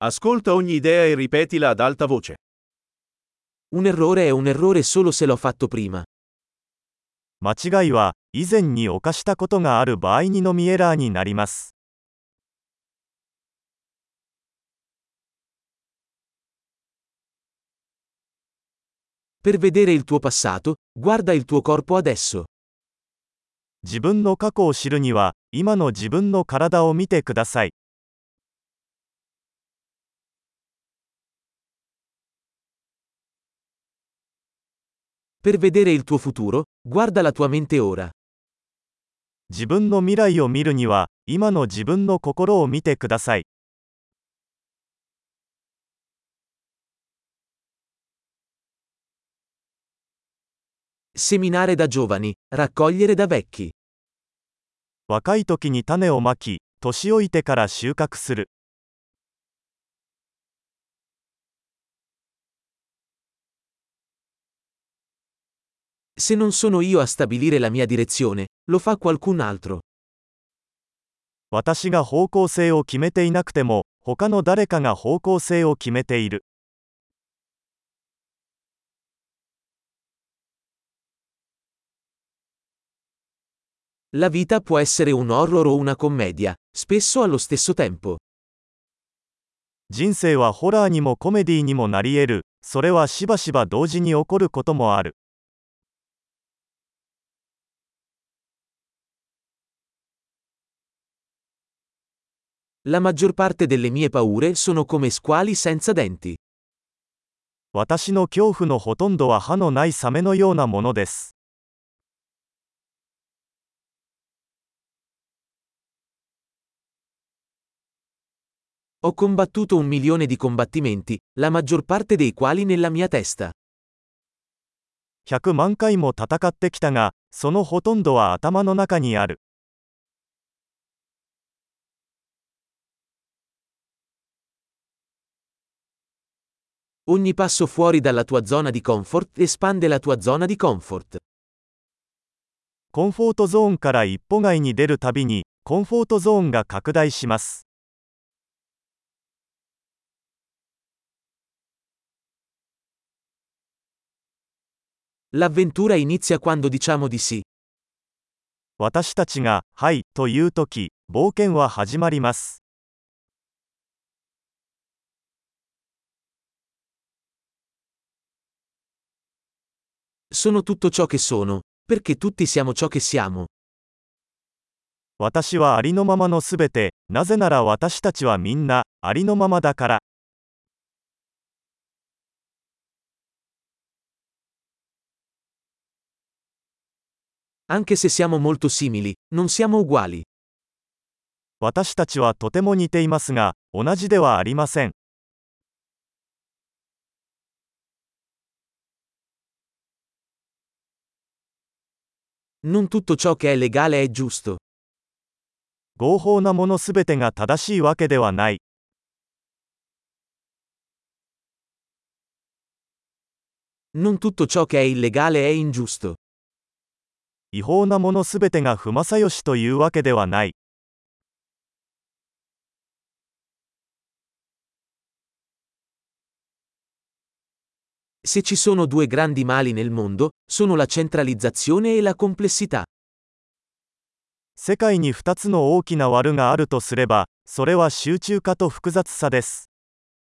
Ascolta ogni idea e ripetila ad alta voce. Un errore è un errore solo se l'ho fatto prima. 間違いは、以前に犯したことがある場合にのみエラーになります。 Per vedere il tuo passato, guarda il tuo corpo adesso. 自分の過去を知るには、今の自分の体を見てください。 Per vedere il tuo futuro, guarda la tua mente ora. 自分の未来を見るには、今の自分の心を見てください。 Seminare da giovani, raccogliere da vecchi. 若い時に種をまき、年老いてから収穫する。 Se non sono io a stabilire la mia direzione, lo fa qualcun altro. 私が方向性を決めていなくても、他の誰かが方向性を決めている。 La vita può essere un horror o una commedia, spesso allo stesso tempo. 人生はホラーにもコメディにもなり得る。それはしばしば同時に起こることもある。 La maggior parte delle mie paure sono come squali senza denti. 私の恐怖のほとんどは歯のないサメのようなものです。 Ho combattuto 1 milione di combattimenti, la maggior parte dei quali nella mia testa. 100万回も戦ってきたが、そのほとんどは頭の中にある。 Ogni passo fuori dalla tua zona di comfort espande la tua zona di comfort. コンフォートゾーンから一歩外に出るたびに、コンフォートゾーンが拡大します。 L'avventura inizia quando diciamo di sì. 私たちが、はい、というとき、冒険は始まります。 Sono tutto ciò che sono, perché tutti siamo ciò che siamo. 私はありのままのすべて、なぜなら私たちはみんな、ありのままだから。 Anche se siamo molto simili, non siamo uguali. 私たちはとても似ていますが、同じではありません。 Non tutto ciò che è legale è giusto. 合法なものすべてが正しいわけではない。 Non tutto ciò che è illegale è ingiusto. 違法なものすべてが不正義というわけではない。 Se ci sono 2 grandi mali nel mondo, sono la centralizzazione e la complessità. 世界に2つの大きな悪があるとすれば、それは集中化と複雑さです。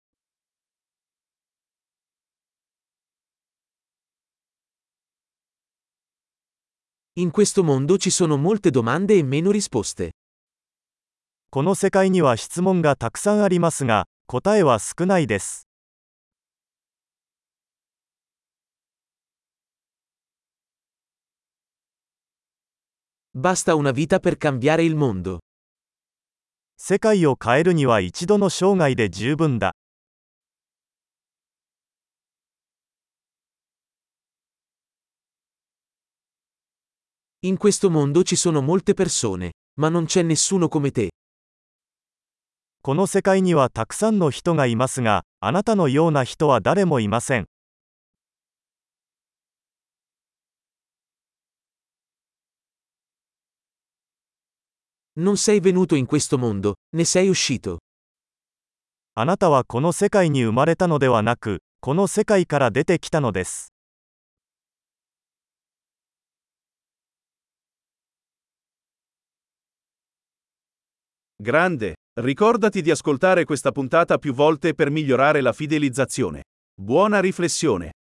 In questo mondo ci sono molte domande e meno risposte. この世界には質問がたくさんありますが、答えは少ないです。 Basta una vita per cambiare il mondo. 世界を変えるには一度の生涯で十分だ。 In questo mondo ci sono molte persone, ma non c'è nessuno come te. この世界にはたくさんの人がいますが、あなたのような人は誰もいません。 Non sei venuto in questo mondo, ne sei uscito. あなたはこの世界に生まれたのではなく、この世界から出てきたのです。 Grande, ricordati di ascoltare questa puntata più volte per migliorare la fidelizzazione. Buona riflessione.